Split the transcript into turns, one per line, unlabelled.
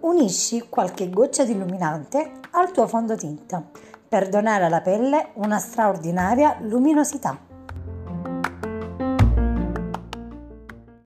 Unisci qualche goccia di illuminante al tuo fondotinta per donare alla pelle una straordinaria luminosità.